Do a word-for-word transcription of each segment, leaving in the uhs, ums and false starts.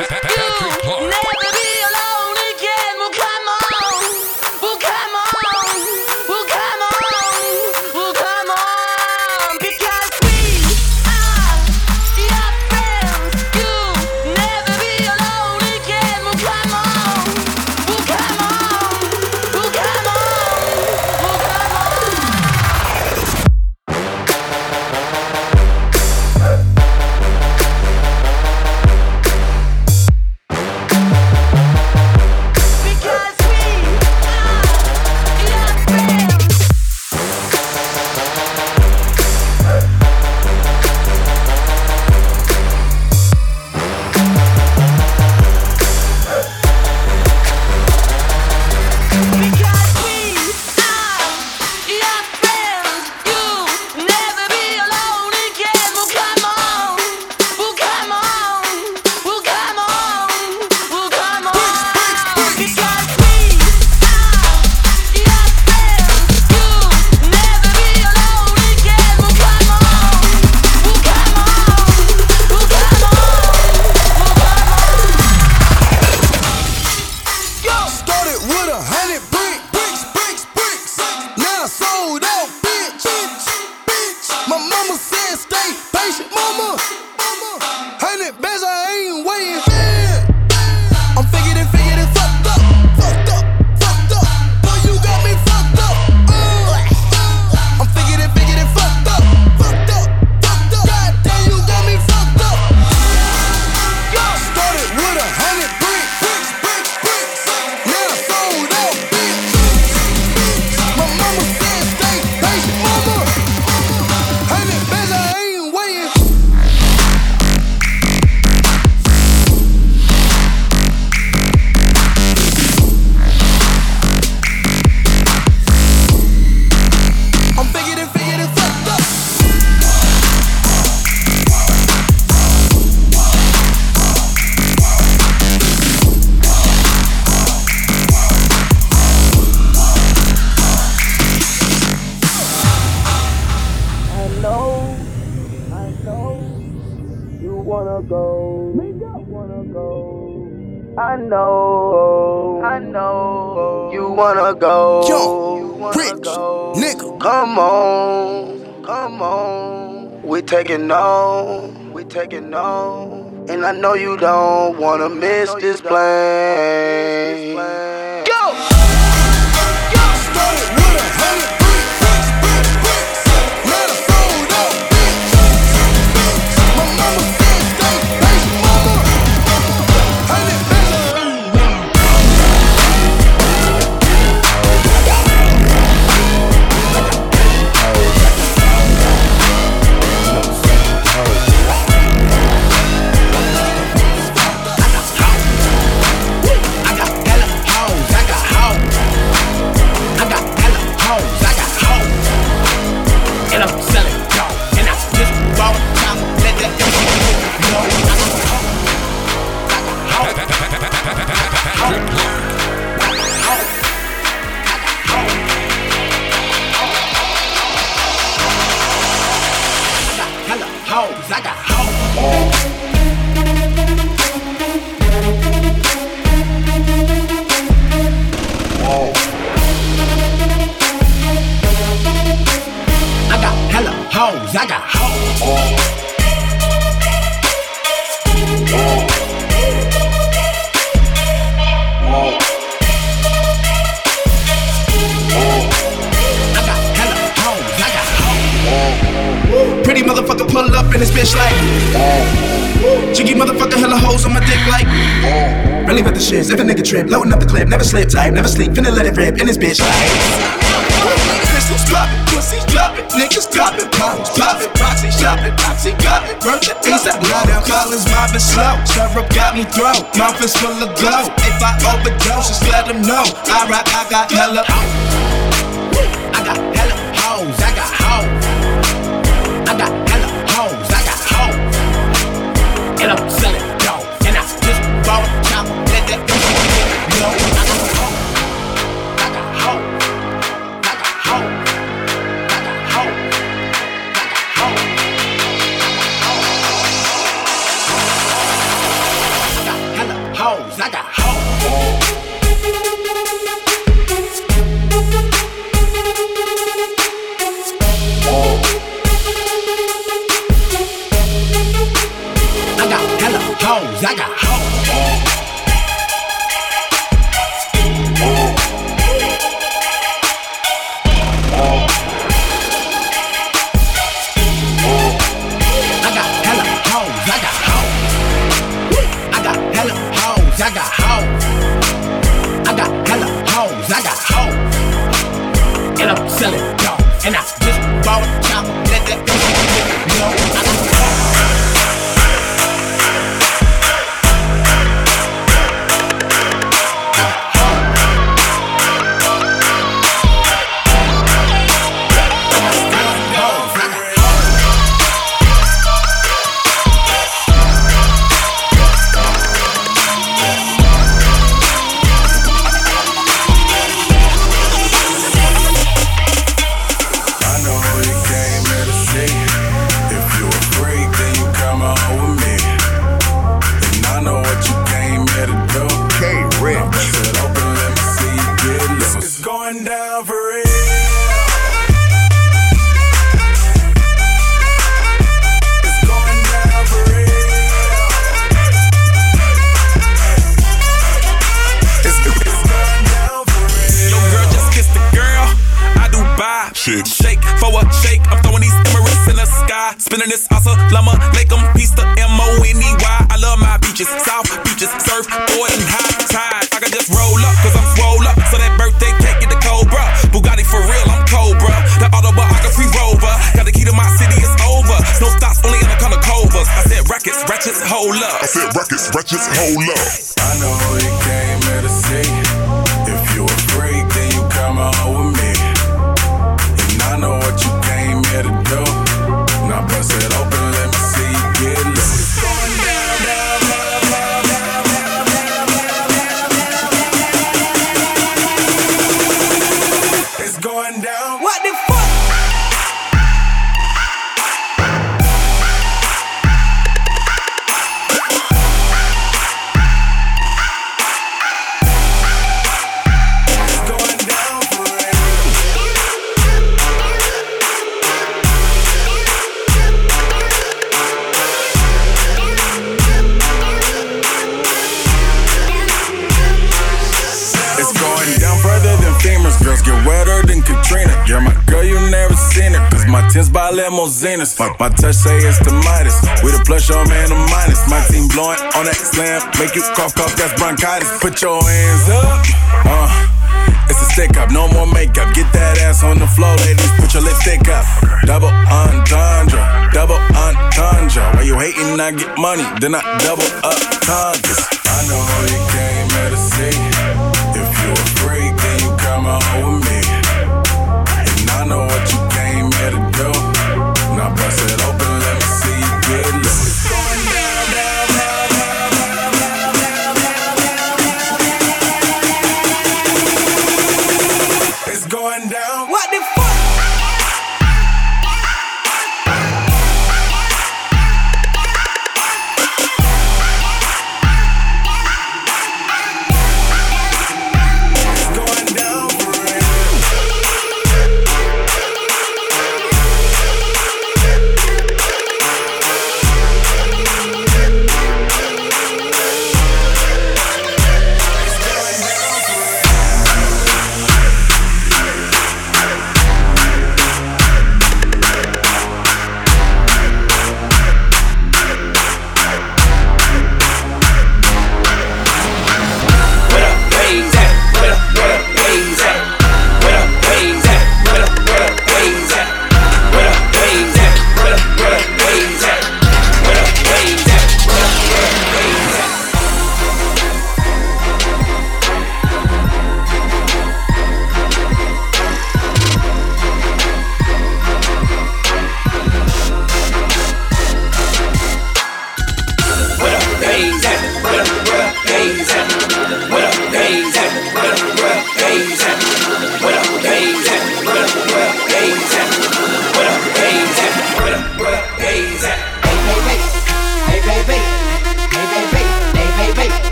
You'll never be alone again. Well, come on. Well, come on. Well, come on. Well, come on. Because we are your friends. You'll never be alone again. Well, come on. Well, come on. Well, come on. Well, come on. Because we are your friends. Because we are your friends. You'll never be alone again. Well, come on. Well, come on. Well, come on. Well, come on. Because we are your friends. You'll never be alone again. Well, come on. Well, come on. Well, come on. Well, come on. Started with a hundred brick, bricks, bricks, bricks. Now I sold out, bitch. bitch. My mama said stay patient, mama. Hundred bands, I ain't waiting. I'm figured and figured and fucked up, fucked up, fucked up. Boy, you got me fucked up. Uh. I'm figured and figured and fucked up, fucked up, fucked up. God damn, you got me fucked up. Started with a hundred brick, bricks, bricks, bricks. Now I sold out, bitch. My mama said stay patient, mama. Hundred bands, I ain't waiting. I'm figured and figured and fucked up. I know, I know, you wanna go, you wanna go. I know, I know, you wanna go. Yo, rich nigga, come on, come on. We taking on, we taking on, and I know you don't wanna miss this plane. Go. Started with a hundred bricks, bricks, bricks, bricks. Now I sold out, bitch. My mama said stay patient, mama. Hundred I got hella hoes, I got hoes. I got hella hoes, I got hoes. And I'm selling dope. And I just bought a top, let that know. I got hoes, I got hoes. I got hoes. I got hella hoes, I got hoes. I got hella hoes, I got hoes. I got hella hoes, I got hoes. Pretty motherfucker pull up in this bitch like Jiggy motherfucker hella hoes on my dick like Really with the shits, if a nigga trip, loading up the clip, never slip tight, never sleep, finna let it rip in this bitch like Crystals poppin', pussies droppin', niggas droppin', bottles poppin', proxy shopping, proxy got it, worth the ASAP. Now down Collins mobbing slow, syrup got me throw, mouth is full of glow. If I overdose, just let them know. I rock, I got hella hoes, I got hella hoes, I got hoes, I got hella hoes, I got hoes, and I'm selling dope, and I just bought a chopper, let that go. I got hoes, I got hoes. hoes, I got hoes. I got hella hoes, I got hoes. I got hella hoes, I got hoes. I got hella hoes, I got hoes. And I'm selling dope, and I just bought a chopper, let that bitch know I got shit. Shake for a shake, I'm throwing these Emirates in the sky. Spinning this Assalamu alaikum, peace to M O N E Y. I love my beaches, South beaches, surf, boy, and high tide. I can just roll up, cause I'm swole up. So that birthday cake get the Cobra. Bugatti for real, I'm Cobra. The autobiography rover. Got the key to my city, it's over. No stops, only in the color covers. I said rackets, ratchets, hold up. I said rackets, ratchets, hold up. I know you came here to see. If you a freak, then you come on with me. I know what you came here to do. Now bust it open, let me see you get loose. It's going down, down, down, down, down, down, down. It's going down. What the fuck? Girls get wetter than Katrina. You're my girl, you never seen it. Cause my tins by limousines. My touch say it's the Midas. We the plus, your man, the minus. My team blowing on that slam. Make you cough, cough, that's bronchitis. Put your hands up. Uh, it's a stick up, no more makeup. Get that ass on the floor, ladies. Put your lipstick up. Double entendre, double entendre. Why you hating, I get money. Then I double up congas. I know you came here to see. If you a freak, then you come on with me. And I know what you came here to do. Now bust it open, let me see you get loose. It's going down, down, down, down, down, down, down. It's going down. What the fuck? It's going down for real.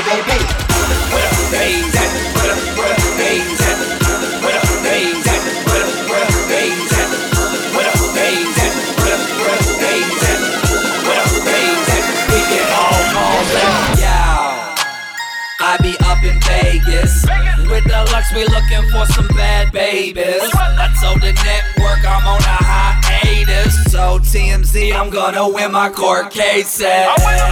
baby. Where the bass at? Where the, where the bass at? Where the bass at? Where the, where the bass at? Where the bass at? Where the, where the bass at? Where the bass at? We get all all that. Yeah, I be up in Vegas. With the Lux, we looking for some bad babies. I told the network I'm on a hiatus. So T M Z, I'm gonna win my court cases.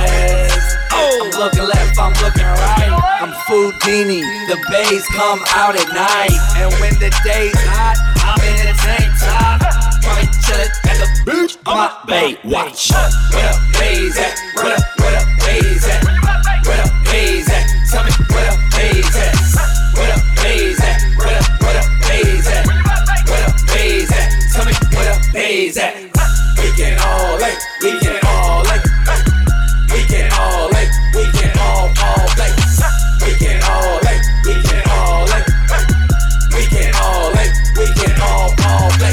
I'm looking left, I'm looking right. I'm Foodini, the bays come out at night. And when the day's hot, I'm in a tank top. Probably chillin' at the beach on my bay. Watch. Where the bays at? Where the, where the bays at? Where the bays at? Tell me where the bays at? Where the bays at? Where the, where the bays at? Where the bays at? Tell me where the bays at? We can all lay, we can all lay. We can all lay, we can all all play. We can all lay, we can all lay. We can all lay, we can all all play.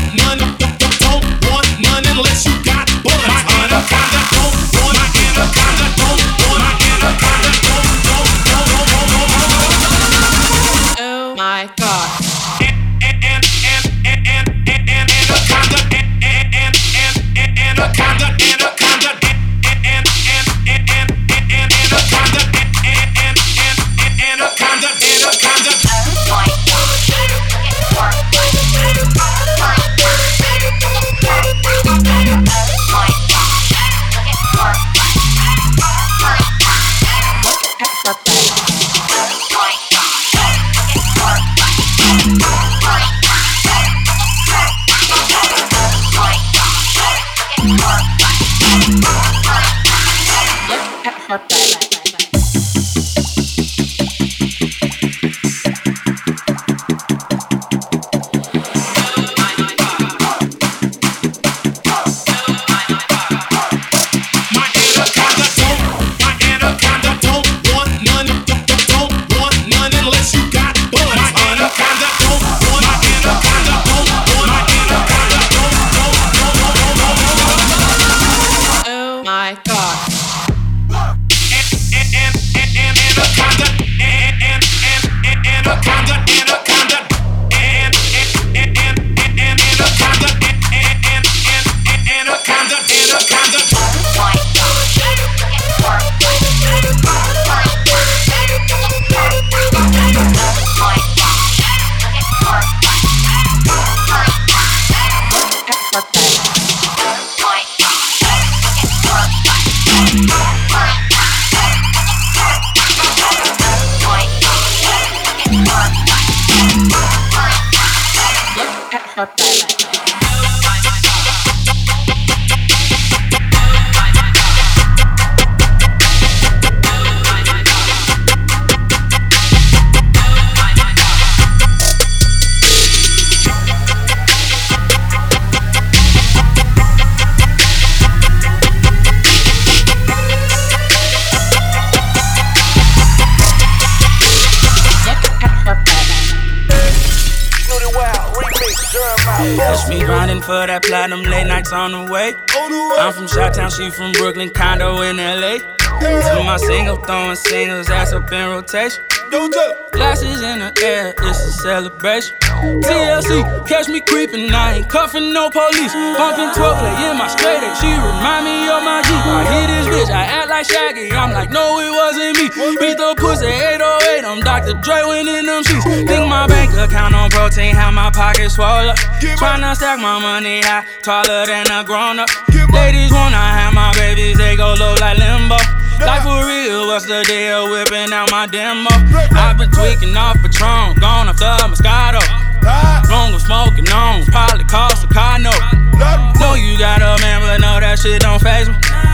Unless you got bullets. My anaconda don't want my anaconda. Catch me grinding for that platinum, late nights on the way. I'm from Chi-Town, she from Brooklyn, condo in L A. To my single, throwing singles, ass up in rotation. Glasses in the air, it's a celebration. T L C, catch me creeping, I ain't cuffing no police. Bumping twelve play in my straight A, she remind me of my G. I hit this bitch, I act like Shaggy, I'm like, no, it wasn't me. Beat the pussy eight oh eight, I'm Doctor Dre when in them sheets. Think my bank account on protein, have my pockets swole up. Tryna stack my money high, taller than a grown up. Ladies wanna have my babies, they go low like limbo. Like for real, what's the deal? Whipping out my demo. I've been tweaking off Patron, gone off the Moscato. Longer smoking on, probably cost a car note. Know you got a man, but no, that shit don't faze me.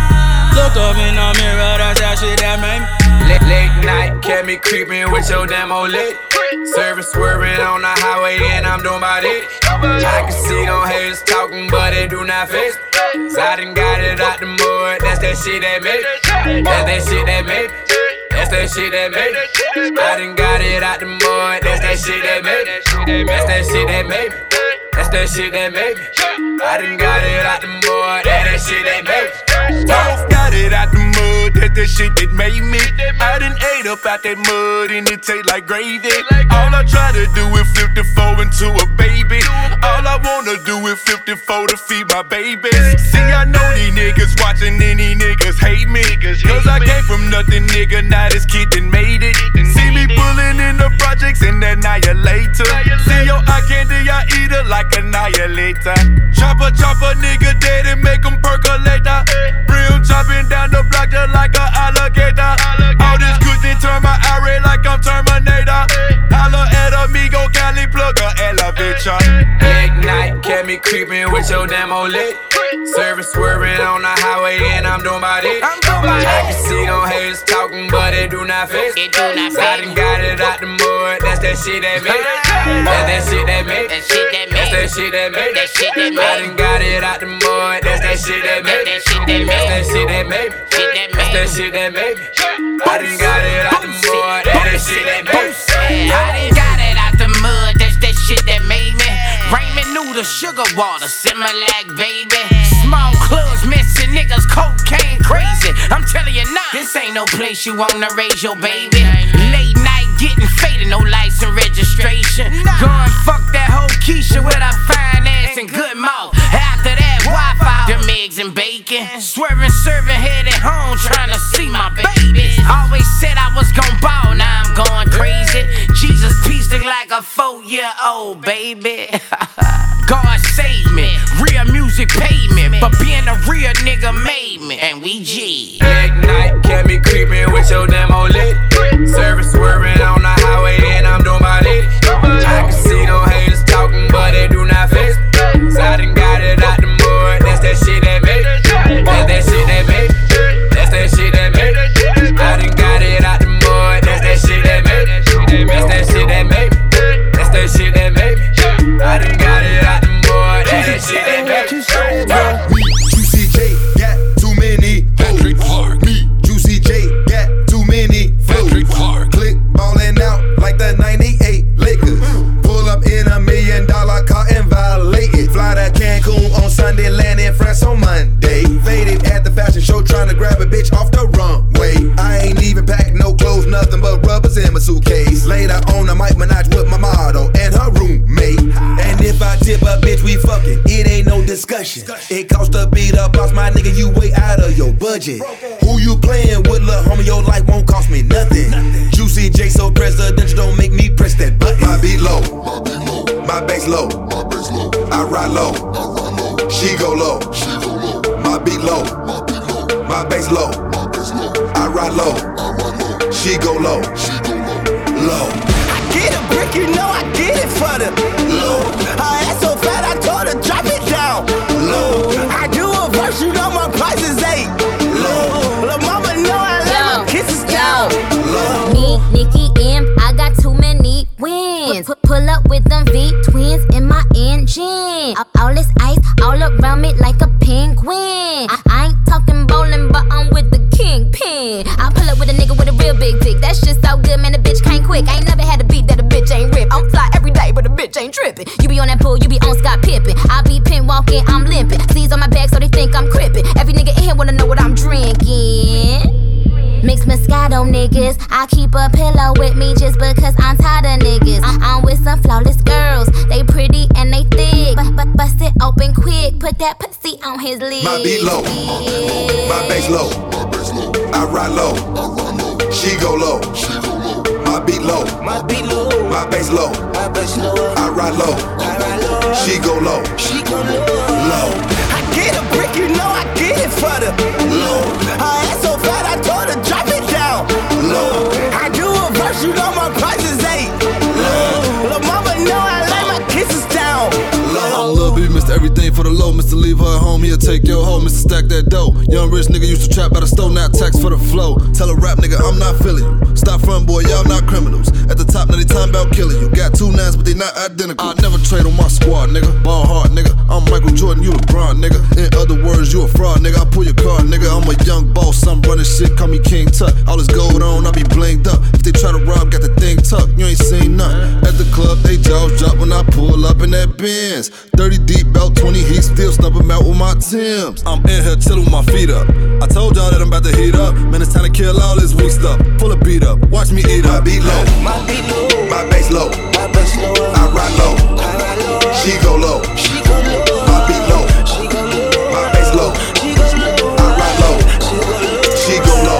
Look up in the mirror, that's that shit that made me. Late, late night, kept me creeping with your demo lit. Service swerving on the highway and I'm doing about it. I can see them haters talking, but they do not face me. So I done got it out the mud, that's that shit that made me. That's that shit that made me. That's that shit that made me. I done got it out the mud, that's that shit that made me. That's that shit that made me. That's that shit that made me. I done got it out the mud, that's that shit that made me. Both got it out the mud, that's the shit that made me. I done ate up out that mud and it taste like gravy. All I try to do is fifty-four into a baby. All I wanna do is fifty-four to feed my babies. See, I know these niggas watching and these niggas hate me. Cause I came from nothing, nigga, now this kid done made it. See me pulling in the projects and annihilator. See your eye candy, I eat it like annihilator. Chopper, chopper, nigga dead and make them percolator. Real chopping down the block just like a alligator. All this cushion turn my eye like I'm Terminator. Holla at amigo, Cali plug a elevator. Late night, kept me creeping with your demo lit. Service swerving on the highway and I'm doing about it. I can see them haters talking, but they do not face me. So I done got it out the mud, that's that shit that made me. That's that shit that made me. That's that shit that made me. I done got it out the mud, that's that shit that made me. That's that shit that made me. That's that shit that made me. I done got it out the mud, that's that shit that made me. I done got it out the mud, that's that shit that made me. Raymond noodles, sugar water, Similac, baby. Small clubs, missing niggas, cocaine crazy. I'm telling you now, this ain't no place you wanna raise your baby. Late night getting faded, no license registration. Go and fuck that whole Keisha with her fine ass and good mouth. After that, Wi-Fi, them eggs and bacon. Swerving, serving, headed home, trying to see my babies. Always said I was gon' ball, now I'm going crazy. Jesus pieced it like a four-year-old baby. God save me, real music paid me, but being a real nigga made me, and we G. Late night, kept me creeping with your demo lit. Service swerving on the highway and I'm doing about it. I can see them haters talking, but they do not face me. So I done got it out the mud, that's that shit that made me. That's that shit that made me. That's that shit that made me. I done got it out the mud, that's that shit that made me. That's that shit that made me. That's that shit that made me. I done got it out the mud, that's that shit that made me. Juicy J got too many Patrick Clark. Me, Juicy J got too many Patrick Clark. Click ballin' out like the ninety-eight Lakers. Pull up in a million dollar car and violate it. Fly to Cancun on Sunday, land in France on Monday. Faded at the fashion show trying to grab a bitch off the runway. I ain't even packed no clothes, nothing but rubbers in my suitcase. Later on the Mike Minaj with my model and her roommate. And if I tip a bitch, we fucking, it ain't no discussion. It costs to beat up boss, my nigga, you way out of your budget. Who you playing with, lil' homie, your life won't cost me nothing. Juicy J so presidential, don't make me press that button. My beat low, my bass low, I ride low, she go low. My beat low, my bass low, I ride low, she go low, low. Get a brick, you know I get it for them. Low. Her ass so fat, when. I, I ain't talking bowling, but I'm with the kingpin. I pull up with a nigga with a real big dick. That shit so good, man, the bitch can't quick. I ain't never had a beat that a bitch ain't rip. I'm fly every day, but a bitch ain't tripping. You be on that pool, you be on Scott Pippen. I be pin walking, I'm limping. Sleeves on my back, so they think I'm crippin'. Every nigga in here wanna know what I'm drinking. Mixed Moscato niggas, I keep a pillow with me just because I'm tired of niggas. I'm with some flawless girls, they pretty and they thick. But but bust it open quick, put that pussy on his lid. My beat low, my bass low, I ride low, she go low. My beat low, my beat low, my bass low, I ride low, she go low, she go low. I get a brick, you know I get it for the low. I ass so fat, I told her drop it down low. I do a verse, you know my prices ain't low. Lil' mama know I like my kisses down low. Lil' B, Mister Everything for the low, Mister Leave her at home, he'll take your hoe, Mister Stack that dough. Young rich nigga used to trap by the stove, now tax for the flow. Tell a rap nigga I'm not feeling you. Stop front boy, y'all not criminals. At the top, now they time about killing you. Got two nines, but they not identical. I never trade on my squad, nigga. Ball hard, nigga. I'm Michael Jordan, you LeBron, nigga. In other words, you a fraud, nigga. I pull your card, nigga. I'm a young boss, I'm running shit, call me King Tut. All this gold on, I be blinged up. If they try to rob, got the thing tucked. You ain't seen nothing. At the club, they jaws drop when I pull up in that Benz. thirty deep, about twenty heat, still snub 'em out with my Timbs. I'm in here chillin' with my feet up. I told y'all that I'm about to heat up. Man, it's time to kill all this weak stuff. Full of beat up, watch me eat up. My beat low, my beat low, my bass low, my bass low. I ride low, I ride low. She go low, she go low. My beat low, she go low. My bass low, she go low. I ride low, she go low,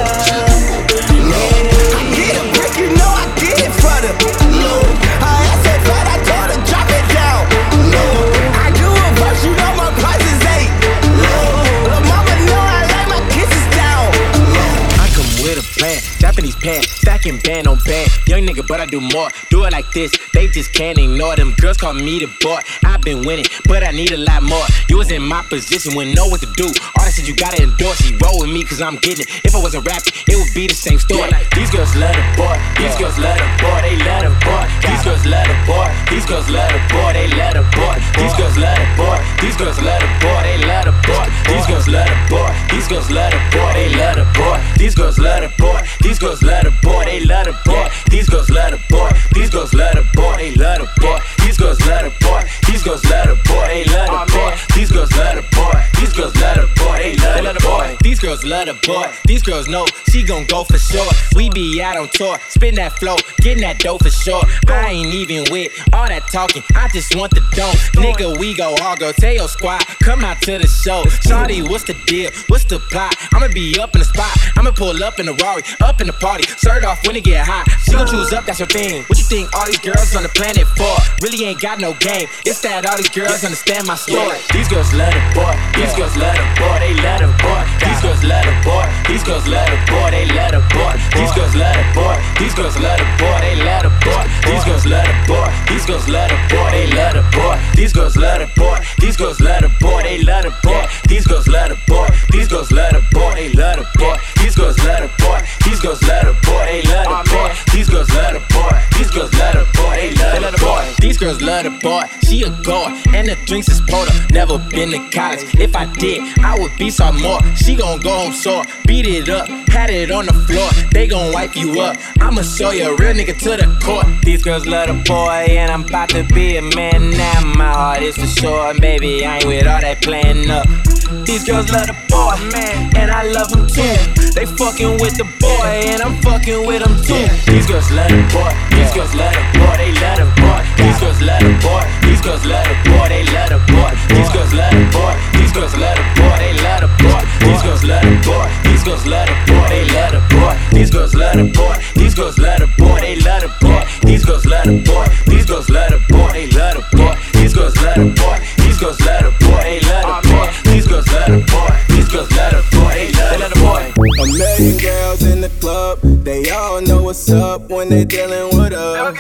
low. I get a brick, you know I get it for the low. I ass so fat, I told her drop it down low. I do a verse, you know my prices ain't low. Lil' mama know I like my kisses down low. I come with a plan, Japanese pants, stacking band on band. Young nigga, but I do more. Do it like this, they just can't ignore them. Girls call me the boy. I've been winning, but I need a lot more. You was in my position, wouldn't know what to do. All that shit you gotta endorse. You roll with me, cause I'm getting it. If I wasn't rapping, it would be the same story. These girls love the boy. These girls love the boy. They love the boy. These girls love the boy. These girls love the boy. They love the boy. These girls love the boy. These girls love the boy. They love the boy. These girls love the boy. These girls love the boy. They love the boy. These girls love the boy. These girls love the boy. They love the boy. These girls love the boy. These girls love the boy. They love the boy. These girls love the boy. These girls love the boy. They love the boy. These girls love the boy. These girls love the boy. They love the boy. These girls love the boy. These girls know she gon' go for sure. We be out on tour, spin that flow, getting that dough for sure. I ain't even with all that talking. I just want the dough. Nigga, we go all go. Tell your squad, come out to the show. Shawty, what's the deal? What's the plot? I'ma be up in the spot. I'ma pull up in the Rari, up in the party. Start off when it get hot. She gon' choose up, that's her thing. What you think all these girls on the planet for? Really ain't got no game. It's that all these girls understand my story. These girls love the boy. These girls love the boy. They love the boy. These girls love the boy. These girls love the boy. They love the boy. These girls love the boy. These girls love the boy. They love the boy. These girls love the boy. These girls love the boy. They love the boy. These girls love the boy. These girls love the boy. They love the boy. These girls love the boy. These girls love the boy. They love the boy. These girls love the boy. These girls love the boy. They love the boy. These girls love the boy. These girls love the boy. They love the boy. These girls love the boy. She a goer and the drinks is poured up. Never been to college. If I did, I would be some more. She gon' go home sore. Beat it up, had it on the floor. They gon' wipe you up. I'ma show you a real nigga to the court. These girls love the boy, and I'm about to be a man now. My heart is for sure, baby. I ain't with all that playing up. These girls love the boy, man, and I love him too. They fucking with the boy, and I'm fucking with him too. These girls love the boy. These girls love the boy. They love the boy. These girls love the boy. These girls love the boy. They love the boy. These girls love the boy. These girls love the boy. They love the boy. These girls love the boy. These girls love the boy. They love the boy. These girls love the boy. These girls love the boy. They love the boy. These girls love the boy. These girls love the boy. They love the boy. These girls love the boy. These girls love the boy. They love the boy. These girls love the boy. These girls love the boy. They love the boy. A million girls in the club, they all know what's up when they dealing with us.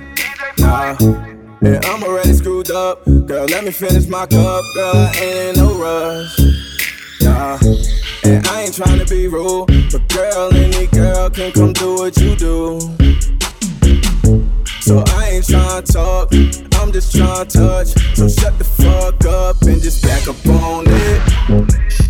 Nah, and I'm already screwed up. Girl, let me finish my cup. Girl, I ain't in no rush. Nah, and I ain't tryna be rude, but girl, any girl can come do what you do. So I ain't tryna talk, I'm just tryna touch. So shut the fuck up and just back up on it.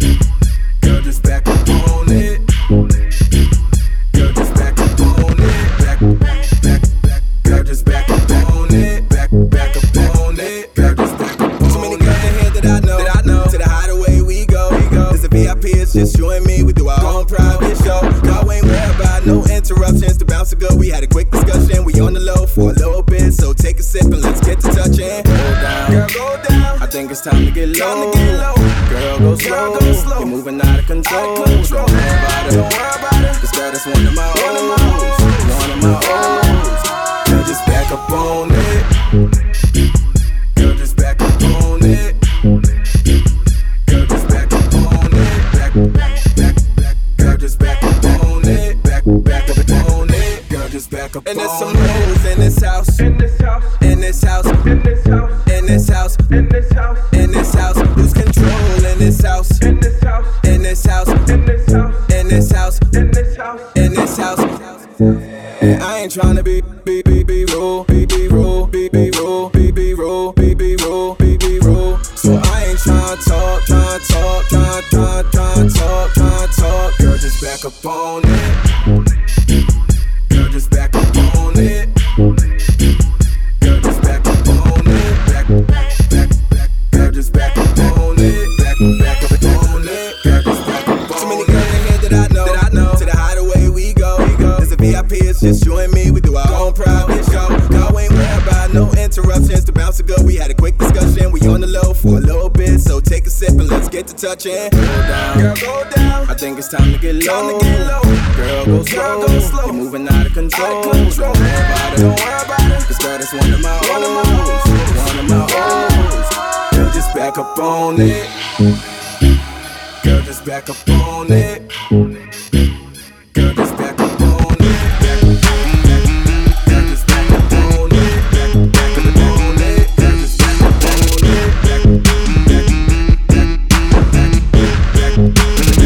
it's just you and me. We do our own private show. Y'all ain't worried about no interruptions. The bouncer go, we had a quick discussion. We on the low for a little bit, so take a sip and let's get to touching. Go down, girl, go down. I think it's time to get low. Time to get low. Girl, go slow. Girl, go slow. You're moving out of control. Out of control. Don't worry about it. Don't worry about it. This girl is one of my O's. One of my O's. Girl, just back up on it. Girl, just back up on it. Girl, just back up on it. Back, back, back, back. Girl, just back up on it. Back, back up on it. Girl, just back up on it. And there's some hoes in this house. In this house. In this house. In this house. In this house. In this house. In this house. Lose control in this house. In this house. In this house. In this house. In this house. In this house. In this house. And I ain't tryna be, be, be, be rude, be, be rude, be, be rude, be, be rude, be, be rude, be, be rude. So I ain't tryna talk, tryna talk, tryna, tryna, tryna talk, tryna talk. Girl, just back up on it. Girl, just back up on it. Girl, just back up on it. Back, back, back. Girl, just back up on it. Back, back up on it. Girl, just back up on it. Too many girls in here that I know, that I know. To the hideaway we go, we go. There's a V I P, it's just you and me. We do our own private show. Y'all ain't worried about no interruptions. The bouncer go, we had a quick discussion. We on the low for a little bit, so take a sip and let's get to touching. Go down, girl, go down. I think it's time to get low. Time to get low. Girl, go slow. Girl, go slow. You're moving out of control. Out of control. Don't worry about it. Don't worry about it. This girl is one of my O's. One of my O's. Girl, just back up on it. Girl, just back up on it. Girl, just back up on it. Back, back, girl, just back up on it. Back, back up on it. Girl, just back up on it. Back, back, back, back,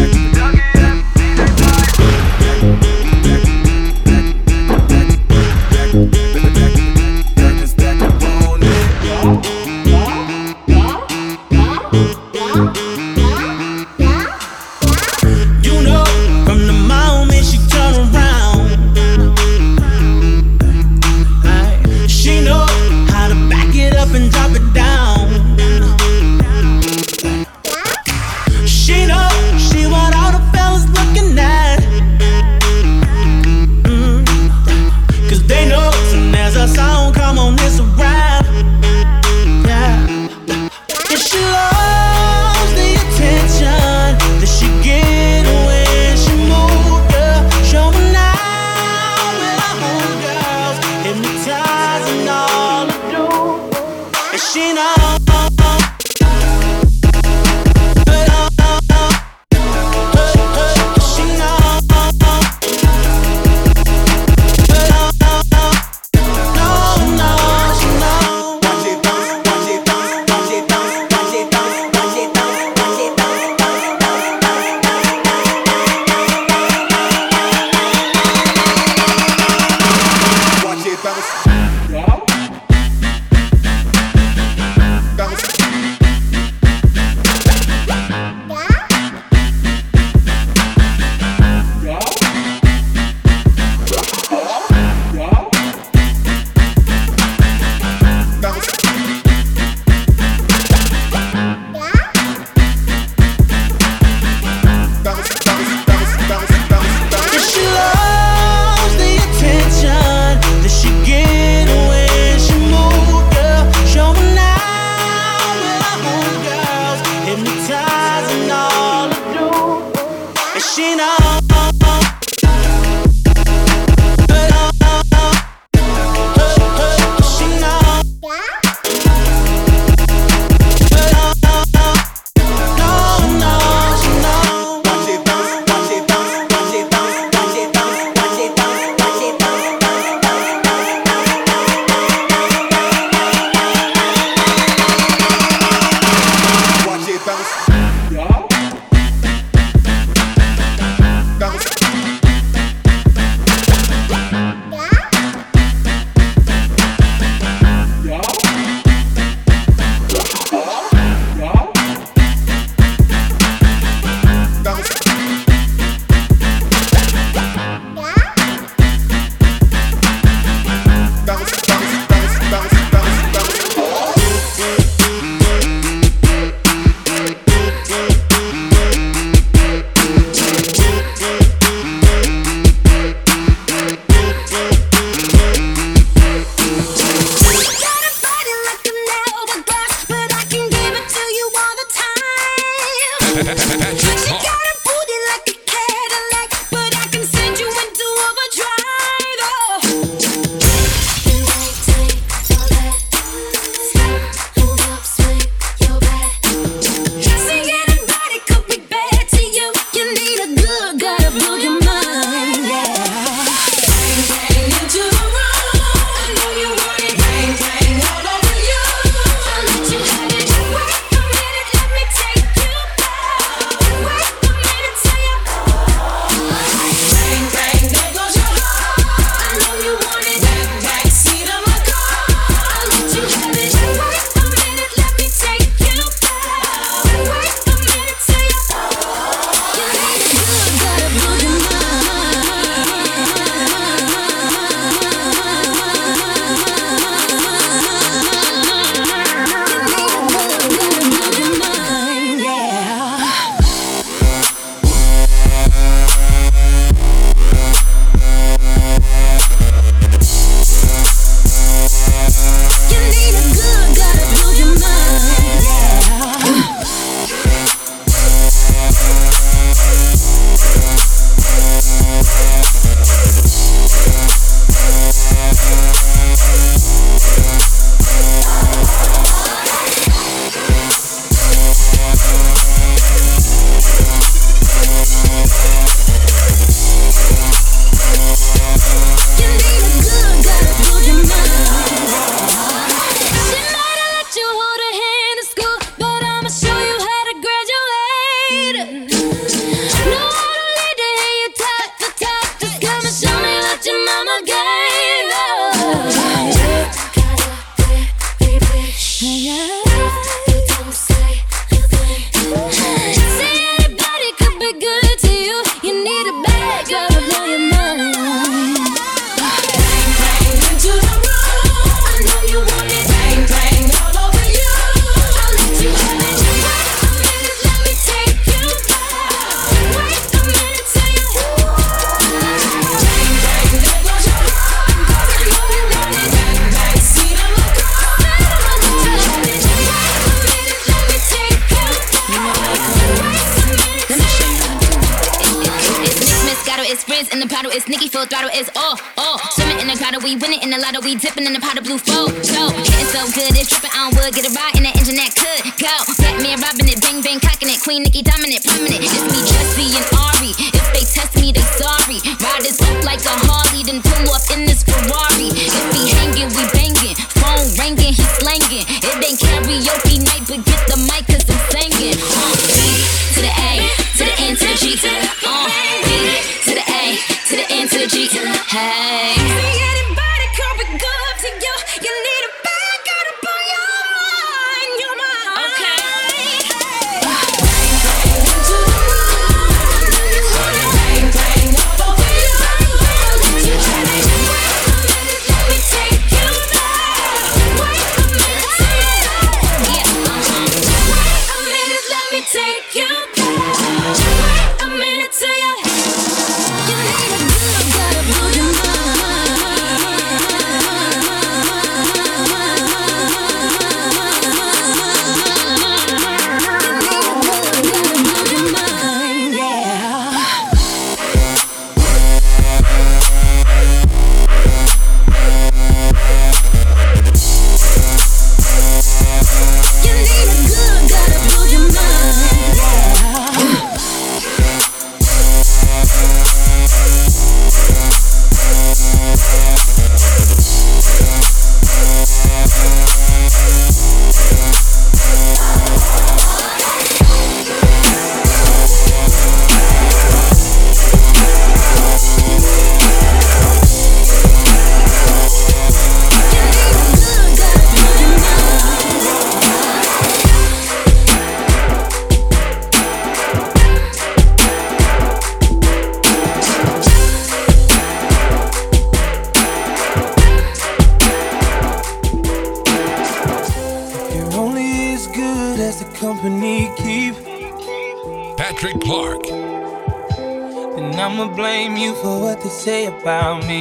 girl, just back up on it. You know, from the moment she turn around, aye, she know how to back it up and drop it down. She know she want all the fellas looking at, mm, cause they know soon as a song come on, it's a rap. Yeah. And she loves the attention that she get when she move, yeah. Showing out with her homegirls, hypnotizing all the dudes. And she knows. Bounce. Patrick Clark. Got a booty like a Cadillac, but I can send you into overdrive. Oh. See, anybody could be bad to you. You need a good guy to build your mind. Yeah. Bang, bang into the room. I know you want it. Bang, bang all over you. I'll let you have it. Wait a minute, let me take you back. Wait a minute till you. Bang, bang, there goes your heart. I know you want it. Back, back seat of my car. I'll let you have it. Wait a minute, let me take you back. Wait a minute till you. You need a good guy to build your mind. Yeah. You need a good guy to build your mind. Yeah. You need a good guy to build your mind. She might have let you hold her hand in school, but I'ma show you how to graduate. Know how to lead to hear you talk the talk. Just come and show me what your mama gave. See, anybody could be good to you. You need a bad girl to blow your mind. Bang, bang into the room. I know you want it. Bang, bang all over you. I'll let you have it. Wait a minute, let me take you back. Wait a minute till you. Bang, bang, there goes your heart. I know you want it. Bang, bang, seat of my car. I'll let you have it. Wait a minute, let me take you back. Let me show you how to do it. It's Mix Moscato, it's Frizz in the bottle, it's Nicki full throttle, it's all, all. Swimming in the grotto, we winning in the lotto, we dipping in the pot of blue flow. So, getting so good, it's dripping on wood, get a ride in the engine that could go. Batman robbing it, bang bang cocking it, Queen Nicki dominant, prominent. It's me, Jesse and Ari. If they test me, they sorry. Ride this up like a Harley, then pull up in this Ferrari. If we hanging, we banging. Phone ringing, he slanging. It ain't karaoke night, but get the mic 'cause I'm singing. Uh, B to the A, to the N to the G, to the uh, B to the A, to the N to the G. Hey. See, anybody could be good to you. You need a bad guy to blow your mind, your mind. Okay. Bang, bang into the room. I know you want it. Bang, bang all over you. I'll let you have it. Wait a minute, let me take you back. Wait a minute till you. Yeah, uh-huh. Wait a minute, let me take you back. Wait a minute till you. You need a good guy to build your mind. Yeah. You need a good guy to build your mind. Yeah. company keep. Patrick Clark. And I'ma blame you for what they say about me.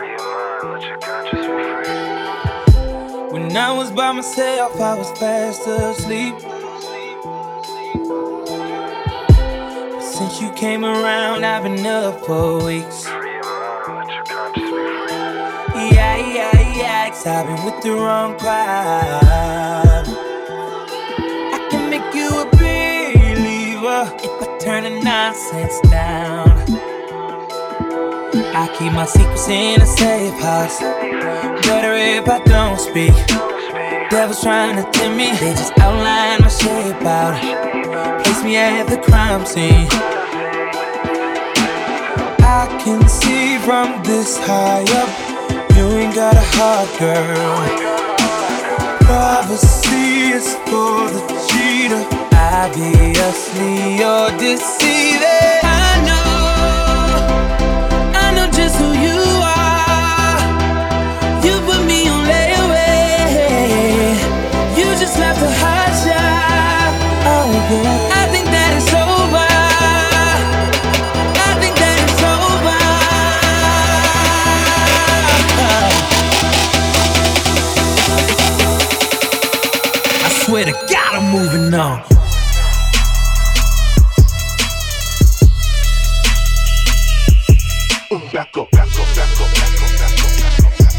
When I was by myself, I was fast asleep. since you came around, I've been up for weeks. Yeah, yeah, yeah, 'cause I've been with the wrong crowd. I can make you a believer if I turn the nonsense down. I keep my secrets in a safe house. Better if I don't speak. Devils trying to tempt me, they just outline my shape out. Place me at the crime scene. I can see from this high up, you ain't got a heart, girl. Prophecy is for the cheater. Obviously you're deceiving. I know, I know just who you are. You put me on layaway. You just left a hot shot. Oh yeah, I think that it's over. I think that it's over. I swear to God, I'm moving on. Back up, back up, back up, back up, back up, back up, back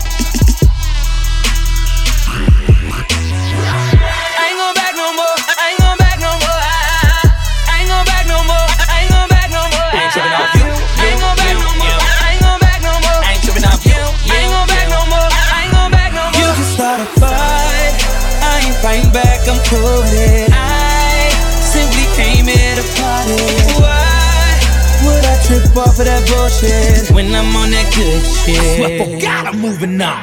I ain't going back no more. I ain't going back no more. I ain't going back no more. I ain't going back no more. I ain't tripping off you. I ain't going back no more. I ain't going back no more. I ain't tripping off you. I ain't going back no more. I ain't going back no more. You can start a fight. I ain't fighting back. I'm coded. I simply came here to party. Why would I trip off of that bullshit when I'm on that good shit? I swear for God, I'm moving on.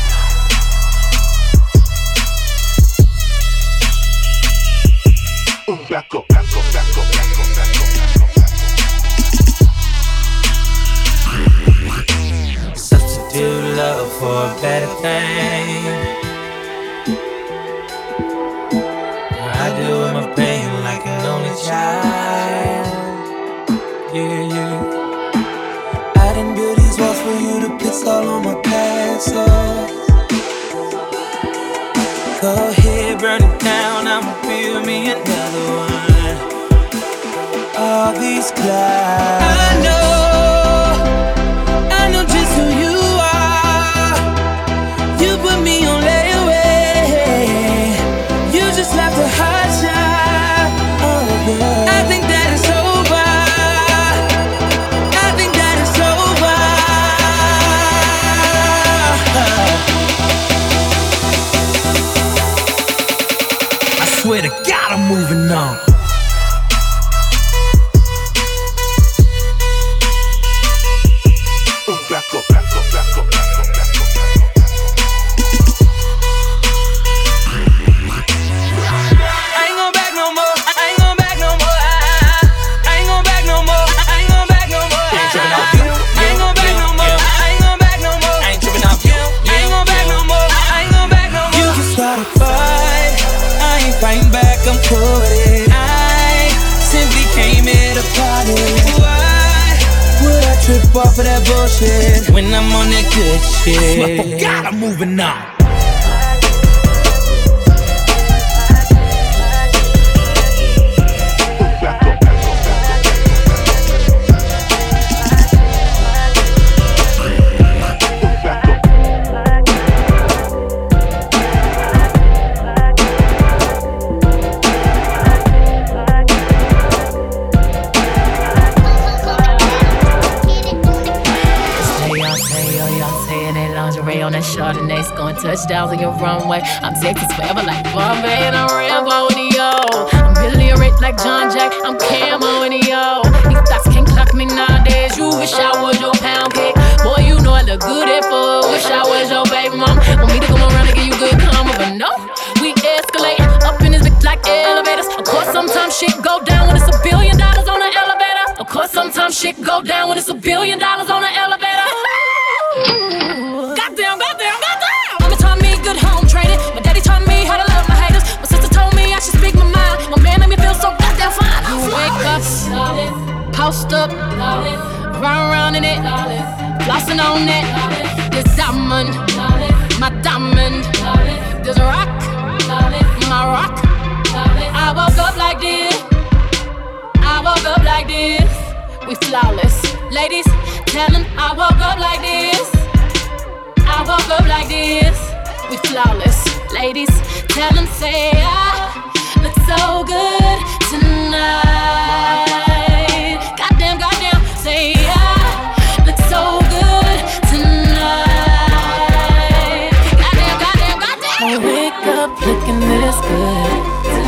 back up, back up, back up, back up, back up, back up. Substitute love for a better thing. I do with my pain like an only child. Yeah, yeah. I didn't build these walls for you to piss all on my castles. Go ahead, burn it down, I'ma build me another one. All these clouds, I know, I know just who you are. You put me on layaway. You just left a hot shot. Oh yeah, I think that it's over. I think that it's over. I swear to God, I'm moving on. Back up, back up, back up, back up, back up, back up. I ain't going back no more. I ain't going back no more. I ain't going back no more. I ain't going back no more. I ain't tripping off you. I ain't going back no more. I ain't going back no more. I ain't tripping off you. I ain't going back no more. I ain't going back no more. You can start a fight. I ain't fighting back. I'm coded. I simply came here to party. Why would I trip off of that bullshit when I'm on that good shit? I swear for God, I'm moving on. Chardonnay's going touchdowns on your runway. I'm Texas forever like Bombay and I'm Rambo in the yo. I'm Billy Rich like John Jack. I'm Camo in the yo. These thoughts can't clock me nowadays. You wish I was your pound cake. Boy, you know I look good at four. Wish I was your baby mom. Want me to come around and give you good karma, but no, we escalate up in this bitch like elevators. Of course, sometimes shit go down when it's a billion dollars on the elevator. Of course, sometimes shit go down when it's a billion dollars on the elevator. Goddamn, goddamn, goddamn. Mama taught me good home training. My daddy taught me how to love my haters. My sister told me I should speak my mind. My man made me feel so goddamn fine. You wake up, post up, run around in it, flossing on it. This diamond, my diamond. This rock, my rock. I woke up like this. I woke up like like this. We flawless. Ladies, tell them I woke up like this. I woke up like this. We flawless. Ladies, tell them say I look so good tonight. Goddamn, goddamn, say I look so good tonight. Goddamn, goddamn, goddamn. I wake up looking this good.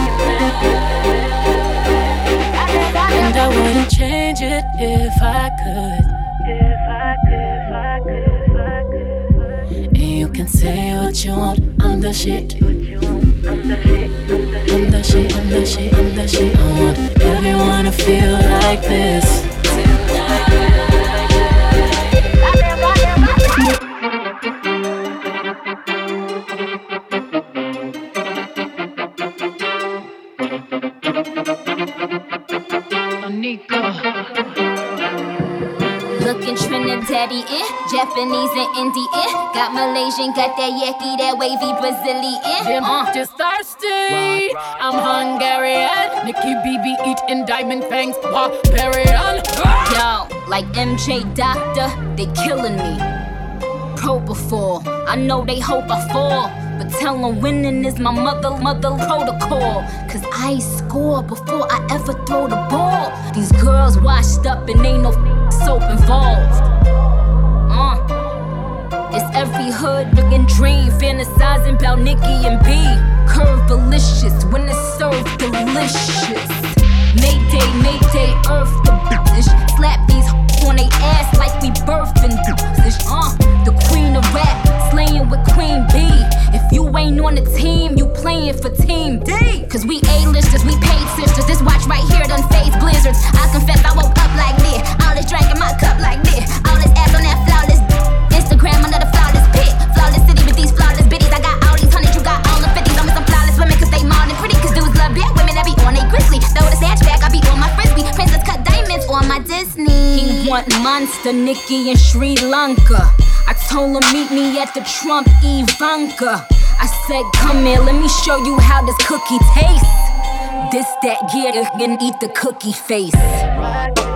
And I wouldn't change it if I could. If I could, if I could, if I could. And you can say what you want, I'm the shit. I'm the shit, I'm the shit, I'm the shit, I'm the shit. I want everyone to feel like this. Looking Trinidadian, Japanese and Indian. Got Malaysian, got that yaki, that wavy Brazilian. I'm just thirsty. I'm Hungarian. Nikki B B eating diamond fangs, barbarian. Yo, like M J Doctor, they killing me. Propofol, I know they hope I fall. But tell them winning is my mother, mother protocol. Cause I score before I ever throw the ball. These girls washed up and ain't no soap involved. Uh, it's every hood looking dream, fantasizing about Nicki and B. Curve delicious when it's served delicious. Mayday, Mayday, earth the bitch. Slap these on they ass like we birthing this. Uh, the queen of rap, slaying with Queen B. If you ain't on the team, you playing for Team D. Cause we A-listers, we paid sisters. This watch right here done phase blizzards. I confess I woke up like this. All this drink in my cup like this. All this ass on that flawless Instagram under the flawless pic. Flawless city with these flawless bitties. I got all these hundreds, you got all the fifties. I'm with some flawless women cause they more than pretty. Cause dudes love big women that be on they grizzly. Throw the snatch back, I be on my frisbee. Princess cut diamonds on my Disney. He want Monster, Nicki, and Sri Lanka. I told him meet me at the Trump Ivanka. I said come here, let me show you how this cookie tastes. This, that, yeah, and eat the cookie face.